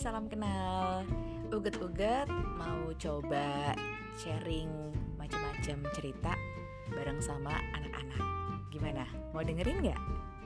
salam kenal. Uget-uget mau coba sharing macam-macam cerita bareng sama anak-anak. Gimana? Mau dengerin gak?